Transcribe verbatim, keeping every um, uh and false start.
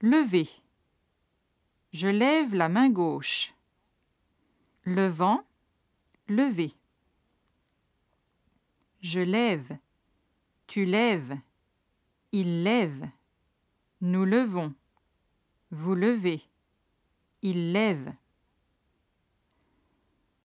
Lever. Je lève la main gauche. Levant, lever. Je lève, tu lèves, il lève, nous levons, vous levez, il lève.